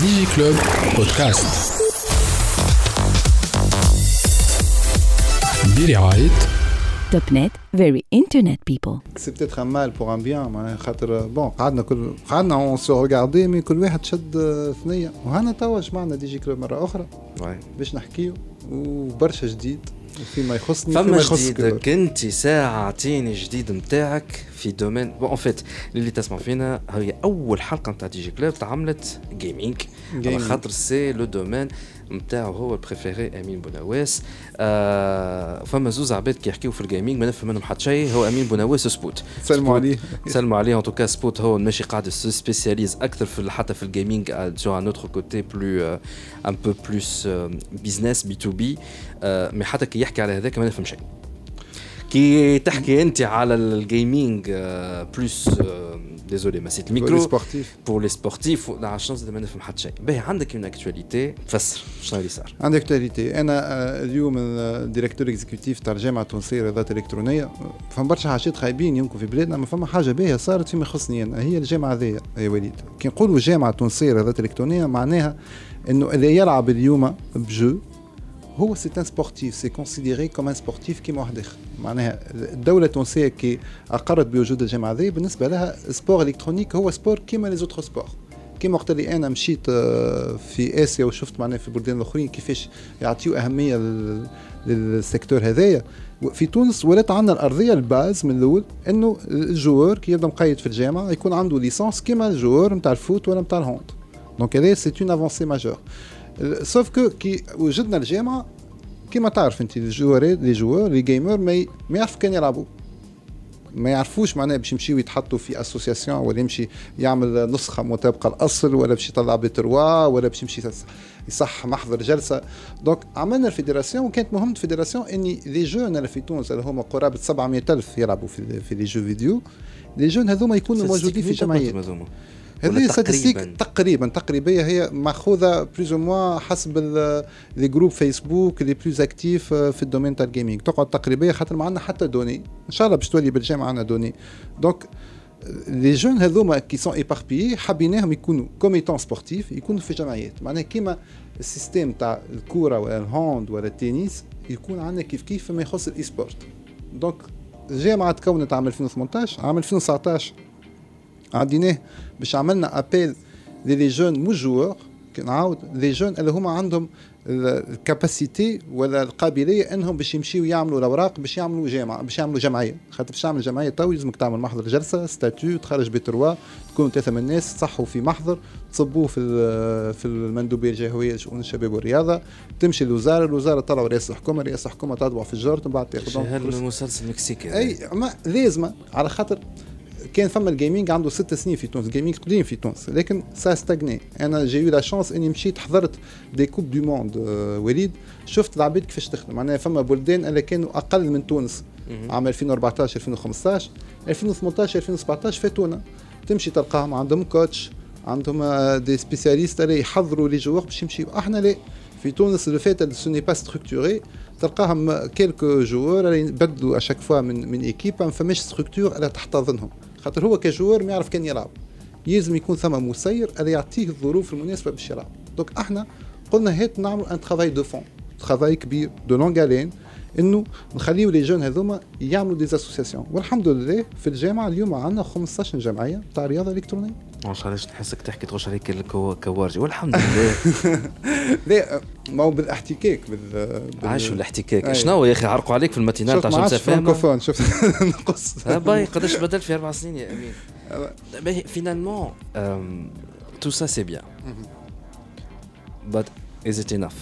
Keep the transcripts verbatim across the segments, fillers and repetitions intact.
ديجي كلوب بودكاست برعاية توب نت very internet people. C'est peut-être un mal pour un bien, معناها خاطر بون قعدنا كل قعدنا اون سو ريغاردي مي كل واحد شد ثنيه وهنا توا جمعنا ديجي كلوب مره اخرى باش نحكيو وبرشا جديد فيما يخصني فما جديد. كنت ساعة اعطيني جديد متاعك في دومين بون فيت اللي تسمع فينا هي اول حلقه نتاع ديجي كلوب تعملت جيمنج على خاطر سي لو دومين متاعو هو البريفيري امين بونواس. آه فما زوز عباد كي يحكيو في الجيمنج ما نفهم منهم حتى شيء. هو امين بونواس سبوت سلموا عليه سلموا عليه ان توكا سبوت هو ماشي قاعد سبيسياليز اكثر في حتى في الجيمنج سو ان اوتر كوتي بلو ان بو بلوس بيزنس بي تو بي. مي حتى كي يحكي على هذاك ما نفهم شيء. كي تحكي انت على الجيمنج بلوس ديزولي ما سيت الميكرو بور لي سبورتيف لا شانس ما نفهم حتى شيء. باهي عندك اون اكtualité فسر شنو اللي صار. عندي اكtualité انا اليوم الديريكتور اكزيكوتيف تاع الجامعه التونسيه للرياضات الالكترونيه. فما برشا حاجات خايبين يمكن في بلادنا ما فما حاجه باهيه صارت فيما يخصني انا هي الجامعه هذيا يا وليد. كي نقولوا الجامعه التونسيه للرياضات الالكترونيه معناها انه اللي يلعب اليوم بجو هو سي ان سبورتيف سي كونسيديري كوم ان سبورتيف كيما واحد اخر. معناها الدوله التونسيه كي اقرت بوجود الجامعه هذه بالنسبه لها سبور الكترونيك هو سبور كيما لي زوتر سبور. كيما وقت اللي انا مشيت في اسيا وشفت معناها في البلدان الاخرين كيفاش يعطيو اهميه للسيكتور هذايا في تونس ولات عندنا الارضيه الباز من الاول انه الجوار كي يبدا مقيد في الجامعه يكون عنده ليسانس كيما الجوار نتاع الفوت ولا نتاع الهوند. دونك هذا سي اون افونسي ماجور. سوف كو كي وجدنا الجامعه كما تعرف انت الجوارات لي جوار لي جيمر ما ما يعرف كان يلعبوا ما يعرفوش معناه باش يمشيو يتحطوا في اسوسياسيون ولا يمشي يعمل نسخه مطابقه الاصل ولا باش يطلع بتروا ولا باش يمشي يصح محضر جلسه. دونك عملنا الفيدراسيون وكانت مهمه الفيدراسيون اني لي جون اللي في تونس اللي هما قرابه سبعمية ألف يلعبوا في في لي جو فيديو. لي جون هذوما يكونوا موجودين في جمعيات. هذه ستاتستيك تقريبا تقريبيه هي ماخوذه بلوز موا حسب لي جروب فيسبوك لي بلوز اكتيف في الدومين تاع الجيمنج تقعد تقريبيه خاطر ما عندنا حتى دوني ان شاء الله باش تولي بالجامعه عندنا دوني. دونك لي جون هذوما كي سون ايباربيي حبيناهم يكونوا كوميتون سبورتيف يكونوا في جمعيات. معناها كيما السيستم تاع الكوره ولا الهاند ولا التنس يكون عندنا كيف كيف ما يخص الاي سبورت. دونك الجامعه تكونت عام ألفين وثمانية عشر عام ألفين وتسعطاش عديناه باش عملنا ابيل لي جون مو جوور نعاود لي جون اللي هما عندهم الكاباسيتي ولا القابليه انهم باش يمشيو يعملوا الاوراق باش يعملوا جامعه باش يعملوا جمعيه. خاطر باش تعمل جمعيه تو لازمك تعمل محضر جلسه ستاتيو تخرج بتروا تكونوا ثلاثه من الناس تصحوا في محضر تصبوه في في المندوبيه الجهويه لشؤون الشباب والرياضه تمشي للوزاره الوزاره طلعوا رئيس الحكومه رئيس الحكومه تطبع في الجورت من بعد تاخذهم هذا المسلسل المكسيكي اي ما لازمه على خاطر كان فما الجيمنج عنده ست سنين في تونس الجيمنج قديم في تونس لكن سا ستاغني. انا جاي لا شانس اني مشيت حضرت دي كوب دو موند وليد شفت العباد كيفاش تخدم. معناها فما بلدان اللي كانوا اقل من تونس عام ألفين وأربعطاش ألفين وخمسطاش ألفين وثمنطاش ألفين وسبعطاش فاتونا تمشي تلقاهم عندهم كوتش عندهم دي سبيسياليست اللي يحضروا لي جوار باش يمشيو. احنا لا في تونس لو فات سو ني با ستركتوري تلقاهم كيلكو جوار اللي يبدلوا اشاك فوا من من ايكيب ما فماش ستركتور اللي تحتضنهم. خاطر هو كجوار ما يعرف كان يلعب يلزم يكون ثم مسير اللي يعطيه الظروف المناسبه باش يلعب. دونك احنا قلنا هات نعمل ان ترافاي دو فون ترافاي كبير دو لونغالين انه نخليو لي جون هذوما يعملوا دي اسوسياسيون. والحمد لله في الجامعه اليوم عندنا خمسطاش جمعيه تاع رياضه الكترونيه. ما شاء الله نحسك تحكي تغش عليك الكوارجي والحمد لله. لا ما هو بالاحتكاك بال عاشوا الاحتكاك. شنو يا اخي عرقوا عليك في الماتينال تاع شمس فهم شفت نقص باي قداش بدل في اربع سنين يا امين. باهي فينالمون تو سا سي بيان but is it enough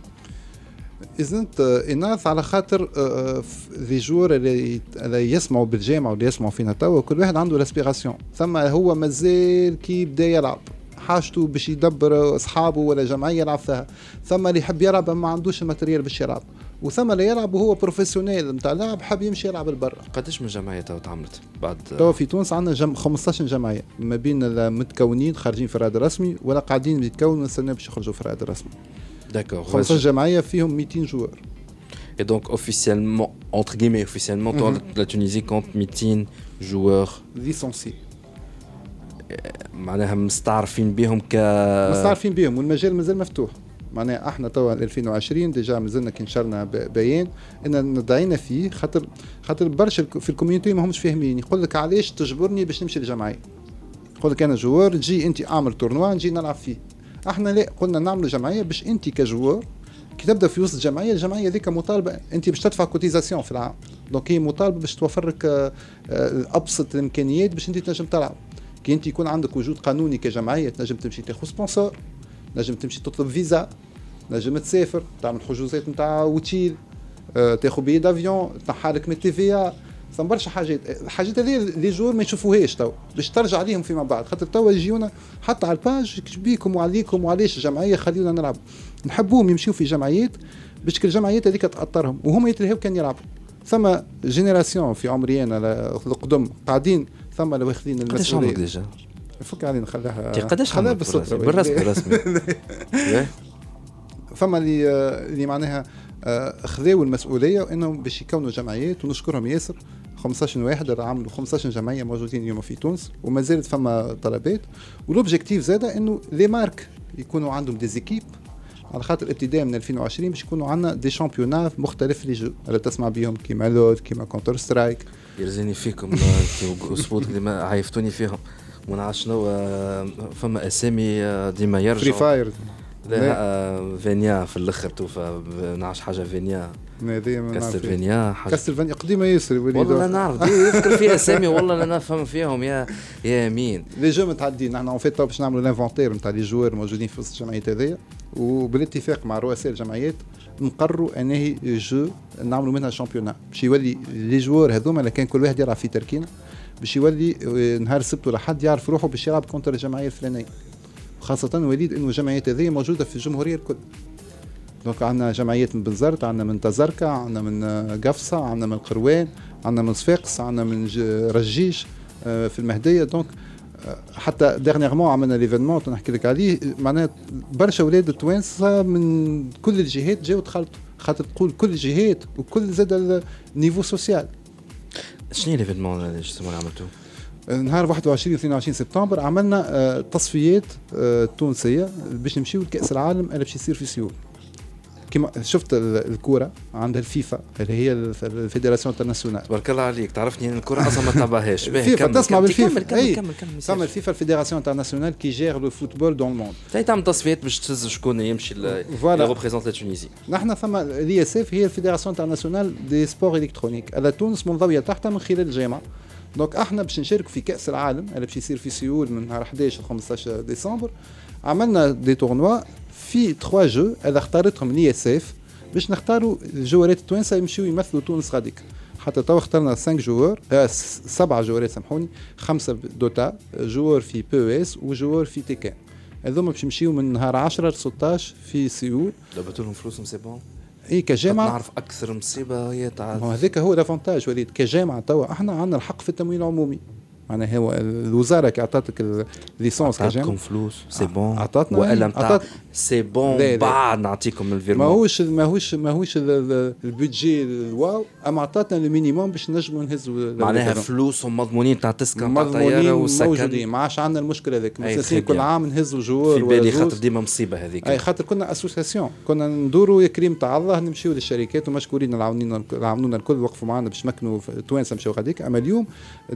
isn't enough على خاطر لي جور اللي اللي يسمعوا بالجامعه واللي يسمعوا فينا توا كل واحد عنده لاسبيراسيون. ثم هو مازال كي بدا يلعب حاجته باش يدبر اصحابه ولا جمعيه يلعب فيها. ثم اللي يحب يلعب ما عندوش الماتريال باش يلعب وثم اللي يلعب وهو بروفيسيونيل نتاع لعب حاب يمشي يلعب لبرا. قداش من جمعيه تو تعملت بعد تو في تونس عندنا جم... خمسطاش جمعيه ما بين المتكونين خارجين في الرائد الرسمي ولا قاعدين يتكونوا نستنى باش يخرجوا في الرائد الرسمي. داكور خمسطاش جمعيه فيهم مئتين جوار. Et donc officiellement entre guillemets officiellement mm-hmm. la Tunisie compte مئتين joueurs licenciés. معناها مستعرفين بهم ك مستعرفين بهم والمجال مازال مفتوح. معناها احنا توا ألفين وعشرين ديجا مازلنا كي نشرنا بيان ان ندعينا فيه خاطر خاطر برشا في الكوميونيتي ما همش فاهمين. يقول لك علاش تجبرني باش نمشي للجمعيه؟ يقول لك انا جوار تجي انت اعمل تورنوا نجي نلعب فيه. احنا لا قلنا نعملوا جمعيه باش انت كجوار كي تبدا في وسط الجمعيه الجمعيه ذيك مطالبه انت باش تدفع كوتيزاسيون في العام. دونك هي مطالبه باش توفر لك ابسط الامكانيات باش انت تنجم تلعب. كي انت يكون عندك وجود قانوني كجمعيه تنجم تمشي تاخذ سبونسور، نجم تمشي تطلب فيزا، نجم تسافر تعمل حجوزات نتاع اوتيل، أه تاخذ بي دافيون، تنحالك من تي في ثم برشا حاجات. الحاجات هذه لي جور ما يشوفوهاش تو باش ترجع عليهم فيما بعد. خاطر توا يجيونا حتى على الباج بيكم وعليكم وعلاش الجمعيه خلينا نلعب. نحبوهم يمشيو في جمعيات باش كل الجمعيات هذيك تاثرهم وهم يتلهوا كان يلعبوا. ثم جينيراسيون في عمري انا القدم قاعدين ثم لو واخدين المسؤوليه. قداش ديجا؟ فك علينا نخليها قداش خليها بالصدفه بالرسمي رسمي. فما اللي اللي معناها خذوا المسؤوليه وانهم باش يكونوا جمعيات ونشكرهم ياسر. خمسطاش واحد عملوا خمسطاش جمعيه موجودين اليوم في تونس وما زالت فما طلبات. والاوبجيكتيف زاده انه لي مارك يكونوا عندهم دي زيكيب على خاطر ابتداء من ألفين وعشرين باش يكونوا عندنا دي شامبيونات مختلف لي جو اللي تسمع بهم كيما لود كيما كونتر سترايك. يرزيني فيكم اسبوع اللي عيفتوني فيهم ما نعرفش شنو فما اسامي ديما يرجعوا فري فاير لا فينيا في الاخر توفى نعرفش حاجه فينيا كاستلفينيا حاجه كاستلفينيا قديمه ياسر والله لا نعرف يذكر فيها اسامي والله لا نفهم فيهم يا يا مين لي جو متعدين. نحن اون فيت باش نعملوا الانفونتير نتاع لي جوار موجودين في وسط الجمعيات هذيا وبالاتفاق مع رؤساء الجمعيات نقرروا انه جو نعملوا منها شامبيونات باش يولي لي جوار هذوما اللي كان كل واحد يلعب في تركينه باش يولي نهار السبت ولا حد يعرف روحه باش يلعب كونتر الجمعيه الفلانيه. خاصة وليد انه الجمعيات هذه موجودة في الجمهورية الكل. دونك عندنا جمعيات من بنزرت، عندنا من تزركة، عندنا من قفصة، عندنا من القروان، عندنا من صفاقس، عندنا من رجيش في المهدية. دونك حتى ديرنيغمون عملنا ليفينمون نحكي لك عليه معناها برشا اولاد التوانسة من كل الجهات جاوا دخلتوا خاطر تقول كل الجهات وكل زاد النيفو سوسيال. شنو ليفينمون اللي عملتوه؟ نهار واحد وعشرين واثنين وعشرين سبتمبر عملنا تصفيات تونسيه باش نمشيو لكاس العالم اللي باش يصير في سيول. كما شفت الكره عندها الفيفا اللي هي الفيدراسيون انترناسيونال. تبارك الله عليك تعرفني ان الكره اصلا ما تتابعهاش. فيفا تسمع بالفيفا. كمل كمل كمل. ثم الفيفا الفيدراسيون انترناسيونال كي جير لو فوتبول دون الموند. تاي تعمل تصفيات باش تهز شكون يمشي اللي ريبريزونت تونيزي. نحن ثم الاي اس اف هي الفيدراسيون انترناسيونال دي سبور الكترونيك. على تونس منضويه تحتها من خلال الجامعه. دونك احنا باش نشاركوا في كاس العالم اللي باش يصير في سيول من نهار احداش ل خمسطاش ديسمبر. عملنا دي تورنوا في ثلاثة جو اللي اختارتهم لي اس اف باش نختاروا الجوارات التوانسه يمشيو يمثلوا تونس غاديك. حتى تو اخترنا خمسة جوار آه سبعة جوارات سامحوني، خمسه دوتا جوار في بي او اس وجوار في تيكان. هذوما باش يمشيو من نهار عشرة ل ستطاش في سيول. دابا لهم فلوسهم سي بون. اي كجامعه نعرف اكثر مصيبه هي تاع هذاك هو الافونتاج وليد. كجامعه توا احنا عندنا الحق في التمويل العمومي. معناها هو الوزاره كي عطاتك الليسونس كجامعه عطاتكم فلوس سي بون عطاتنا ولا نتاع سي بون بعد نعطيكم الفيرمون. ماهوش ماهوش ماهوش البودجي الواو اما عطاتنا المينيموم باش نجموا نهزوا معناها فلوسهم مضمونين تاع تسكن تاع طياره وسكن موجودين. ما عادش عندنا المشكله هذيك مساسين كل عام نهزوا جوار في بالي خاطر ديما مصيبه هذيك. اي خاطر كنا اسوسياسيون كنا ندوروا يا كريم تاع الله نمشيو للشركات ومشكورين العاونين العاونونا الكل وقفوا معنا باش مكنوا توانسه مشاو غاديك. اما اليوم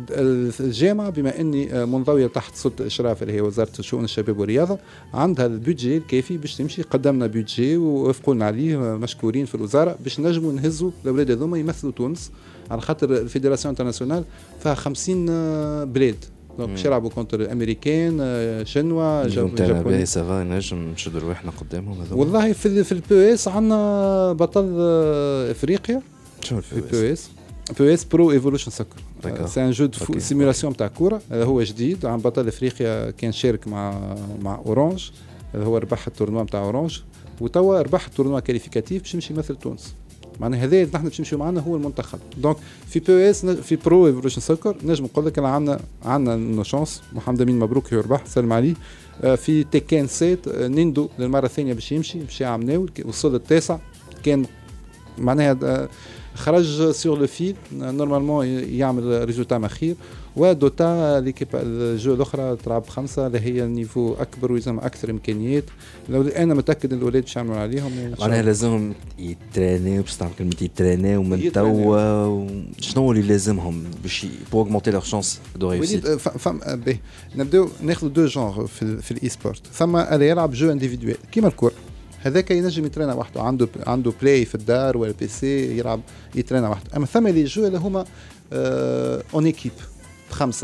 الجامعه بما اني منضويه تحت سلطه الاشراف اللي هي وزاره شؤون الشباب والرياضه عندها البودجي الكافي باش تمشي. قدمنا بودجي ووافقوا لنا عليه مشكورين في الوزاره باش نجموا نهزوا الاولاد هذوما يمثلوا تونس على خاطر الفيدراسيون انترناسيونال فيها خمسين بلاد. دونك باش يلعبوا كونتر الامريكان شنوا جابوني سافا نجم نشدوا رواحنا قدامهم هذوما. والله في في البي اس عندنا بطل افريقيا شنو في البي اس بي اس برو ايفولوشن سكر. سي ان جو دو سيمولاسيون تاع كوره هو جديد عن بطل افريقيا كان شارك مع مع اورانج هو ربح التورنوا نتاع اورانج وتوا ربح التورنوا كاليفيكاتيف باش يمشي يمثل تونس. معناها هذا نحن باش نمشيو معنا هو المنتخب. دونك في بي اس في برو ايفولوشن سكر نجم نقول لك عندنا عندنا نو شانس. محمد امين مبروك يربح سلم عليه. في تيكان سيت نيندو للمره الثانيه باش يمشي باش يعمل وصل التاسع كان معناها خرج سور لو فيل نورمالمون يعمل ريزولتا مخير. ودوتا ليكيب الجو الاخرى تلعب خمسه اللي هي النيفو اكبر ويلزم اكثر امكانيات. لو انا متاكد الاولاد باش يعملوا عليهم معناها لازمهم يترينيو باش تعمل كلمه يترينيو من توا. شنو اللي لازمهم باش بو اوغمونتي لور شانس دو ريوسيت؟ فم نبداو ناخذ دو جونغ في في الاي سبورت. ثم اللي يلعب جو انديفيدوال كيما الكره هذاك ينجم يترينا وحده عنده عنده بلاي في الدار ولا بي سي يلعب يترينا وحده. اما ثم اللي جو اللي هما اون ايكيب خمسه.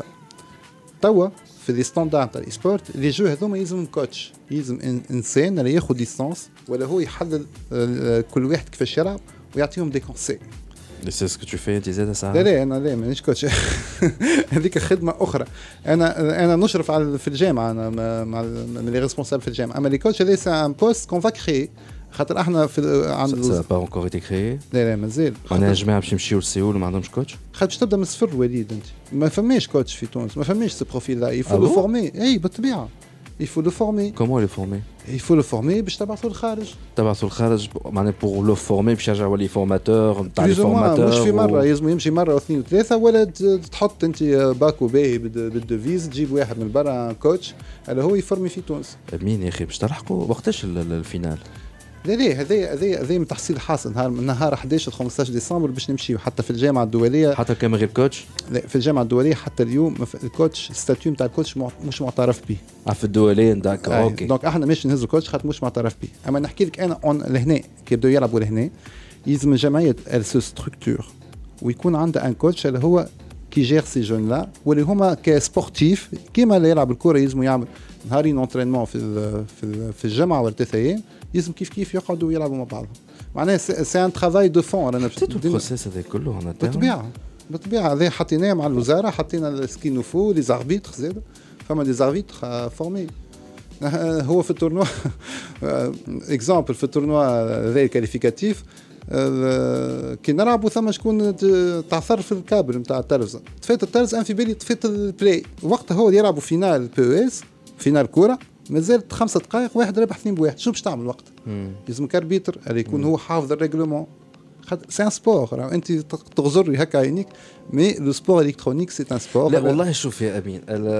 توا في لي ستاندارد تاع السبورت لي جو هذوما يلزم كوتش يلزم انسان اللي ياخذ ديستانس ولا هو يحلل كل واحد كيفاش يلعب ويعطيهم دي كونساي. سي سكو تو في انت زاد ساعه؟ لا لا انا لا مانيش كوتش. هذيك خدمه اخرى. انا انا نشرف على في الجامعه انا مع لي ريسبونسابل في الجامعه. اما لي كوتش هذا سي ان بوست كون فا كري خاطر احنا في عند سا با انكور ايتي كري. لا لا مازال. انا جماعه باش يمشيو لسيول وما عندهمش كوتش. خاطر باش تبدا من الصفر وليد انت ما فماش كوتش في تونس ما فماش سو بروفيل لا يفو لو فورمي. اي بالطبيعه يفو لو فورمي. كومون لو فورمي؟ يفو لو فورمي باش تبعثوا للخارج. تبعثوا للخارج معناها بور لو فورمي باش يرجع يولي فورماتور نتاع لي فورماتور. مش في مره لازم يمشي مره واثنين وثلاثه ولا تحط انت باكو باهي بالدوفيز تجيب واحد من برا كوتش اللي هو يفورمي في تونس. مين يا اخي باش تلحقوا وقتاش الفينال؟ لا لا هذا هذا هذا من تحصيل حاصل نهار نهار أحد عشر خمسة عشر ديسمبر باش نمشيو حتى في الجامعه الدوليه. حتى كان من غير كوتش؟ لا في الجامعه الدوليه حتى اليوم الكوتش ستاتيو نتاع الكوتش مش معترف به. اه في الدوليه داك آه اوكي. دونك احنا ماشي نهزو كوتش خاطر مش معترف به. اما نحكي لك انا اون لهنا كي يبداو يلعبوا لهنا يلزم الجمعيه سو ستركتور ويكون عندها ان كوتش اللي هو كي جير سي جون لا واللي هما كسبورتيف كيما اللي يلعب الكره يلزم يعمل نهارين اونترينمون في في في الجامعه ولا ثلاث ايام يلزم كيف كيف يقعدوا يلعبوا مع بعضهم. معناها سي ان ترافاي دو فون. انا بتيتو البروسيس هذا كله هنا بالطبيعه بالطبيعه هذا حطيناه مع الوزاره حطينا السكين فو لي زاربيتر زاد فما دي زاربيتر فورمي. هو في التورنوا اكزامبل في التورنوا ذا كاليفيكاتيف كي نلعبوا ثم شكون تعثر في الكابل نتاع التلفزه طفيت التلفزه في بالي طفيت البلاي وقتها هو يلعبوا فينال بي اس فينال كوره مازالت خمسة دقائق واحد رابح اثنين بواحد شو باش تعمل وقت لازم كاربيتر اللي يكون هو حافظ الريغلومون. سي ان سبور انت تغزري هكا عينيك مي لو سبور الكترونيك سي ان سبور. لا والله شوف يا امين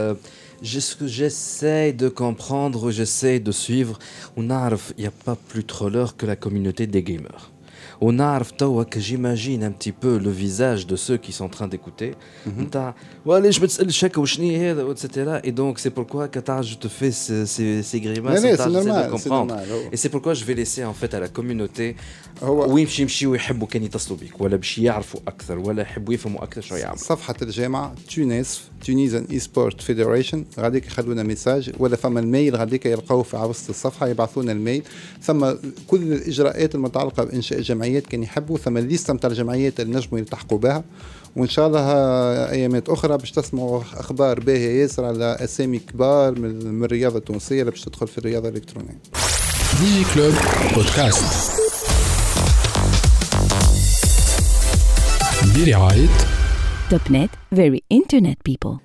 j'essaie de comprendre j'essaie de suivre ونعرف il y a pas plus troller que la communauté des gamers. On a que j'imagine un petit peu le visage de ceux qui sont en train d'écouter. Voilà, je me dis chaque et cetera. Et donc c'est pourquoi Qatar je te fais ces, ces, ces grimaces. Mais c'est normal, de comprendre. C'est normal, oh. Et c'est pourquoi je vais laisser en fait à la communauté. وين باش يمشيو ويحبوا كان يتصلوا بك ولا باش يعرفوا اكثر ولا يحبوا يفهموا اكثر شو يعملوا. صفحه الجامعه تونس تونيزيان اي سبورت فيدريشن غاديك يخلونا ميساج ولا فما الميل غاديك يلقاوه في وسط الصفحه يبعثونا الميل. ثم كل الاجراءات المتعلقه بانشاء جمعيات كان يحبوا ثم الليسته نتاع الجمعيات اللي نجموا يلتحقوا بها. وان شاء الله ايامات اخرى باش تسمعوا اخبار باهيه ياسر على اسامي كبار من الرياضه التونسيه اللي باش تدخل في الرياضه الالكترونيه. ديجي كلوب بودكاست برعاية توب نت very internet people.